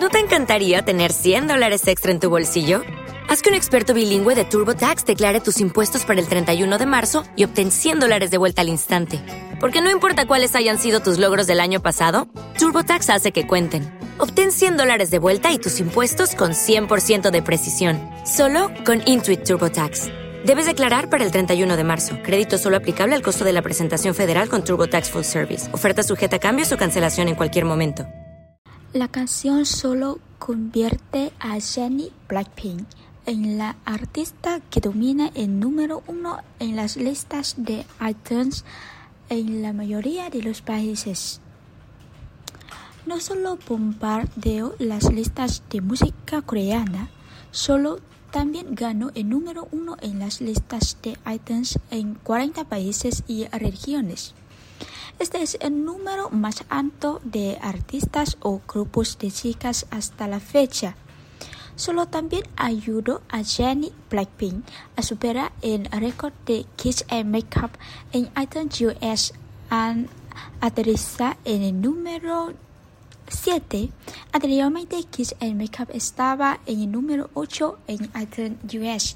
¿No te encantaría tener $100 extra en tu bolsillo? Haz que un experto bilingüe de TurboTax declare tus impuestos para el 31 de marzo y obtén $100 de vuelta al instante. Porque no importa cuáles hayan sido tus logros del año pasado, TurboTax hace que cuenten. Obtén $100 de vuelta y tus impuestos con 100% de precisión. Solo con Intuit TurboTax. Debes declarar para el 31 de marzo. Crédito solo aplicable al costo de la presentación federal con TurboTax Full Service. Oferta sujeta a cambios o cancelación en cualquier momento. La canción solo convierte a Jennie Blackpink en la artista que domina el número 1 en las listas de iTunes en la mayoría de los países. No solo bombardeó las listas de música coreana, solo también ganó el número 1 en las listas de iTunes en 40 países y regiones. Este es el número más alto de artistas o grupos de chicas hasta la fecha. Solo también ayudó a Jennie Blackpink a superar el récord de Kiss and Makeup en iTunes US al aterrizar en el número 7. Anteriormente, Kiss and Makeup estaba en el número 8 en iTunes US.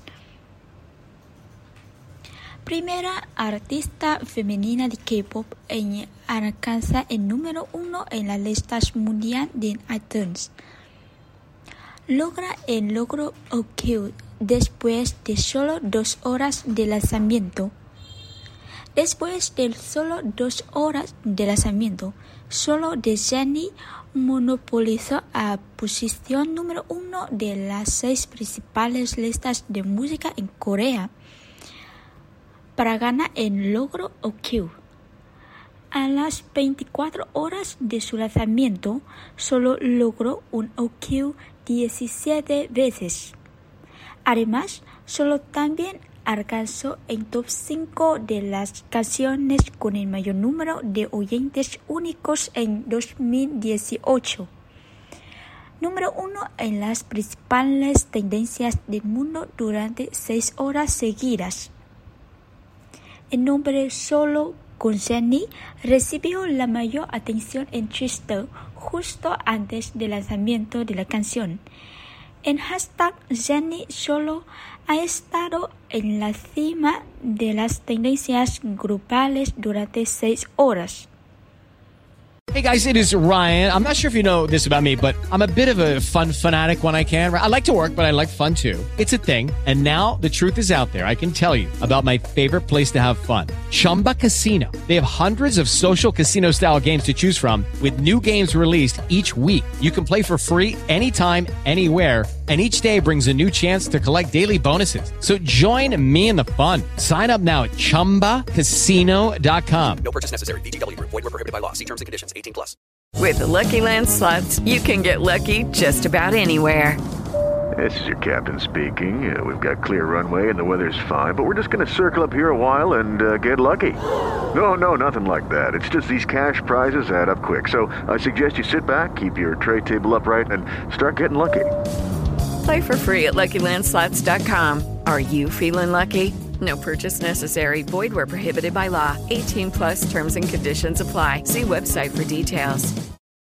Primera artista femenina de K-pop en alcanzar el número 1 en las listas mundiales de iTunes. Logra el logro OK después de solo 2 horas de lanzamiento. Después de solo 2 horas de lanzamiento, solo de Jennie monopolizó la posición número 1 de las 6 principales listas de música en Corea para ganar el logro OK. A las 24 horas de su lanzamiento, solo logró un OK 17 veces. Además, solo también alcanzó el top 5 de las canciones con el mayor número de oyentes únicos en 2018. Número 1 en las principales tendencias del mundo durante 6 horas seguidas. El nombre solo con Jennie recibió la mayor atención en Twitter justo antes del lanzamiento de la canción. El hashtag Jennie solo ha estado en la cima de las tendencias globales durante 6 horas. Hey guys, it is Ryan. I'm not sure if you know this about me, but I'm a bit of a fun fanatic when I can. I like to work, but I like fun too. It's a thing. And now the truth is out there. I can tell you about my favorite place to have fun. Chumba Casino. They have hundreds of social casino style games to choose from with new games released each week. You can play for free anytime, anywhere. And each day brings a new chance to collect daily bonuses. So join me in the fun. Sign up now at ChumbaCasino.com. No purchase necessary. VGW Group. Void were prohibited by law. See terms and conditions. 18+. With the Lucky Land Slots, you can get lucky just about anywhere. This is your captain speaking. We've got clear runway and the weather's fine, but we're just going to circle up here a while and get lucky. No, nothing like that. It's just these cash prizes add up quick. So I suggest you sit back, keep your tray table upright, and start getting lucky. Play for free at LuckyLandSlots.com. Are you feeling lucky? No purchase necessary. Void where prohibited by law. 18+ terms and conditions apply. See website for details.